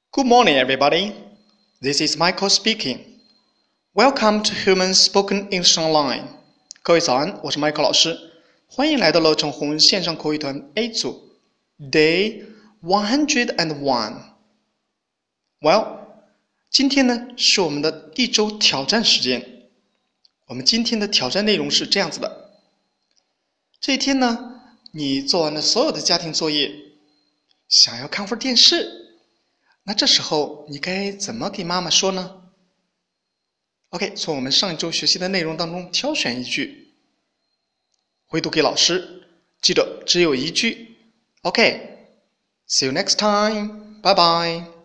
Good morning, everybody. This is Michael speaking. Welcome to Human Spoken English Online. 各位早安，我是 Michael 老师，欢迎来到乐成红线上口语团 A 组 Day 101. Well, 今天呢是我们的一周挑战时间。我们今天的挑战内容是这样子的。这一天呢，你做完了所有的家庭作业，想要看会儿电视，那这时候你该怎么给妈妈说呢？ OK， 从我们上一周学习的内容当中挑选一句，回读给老师，记得只有一句。OK，see you next time，拜拜。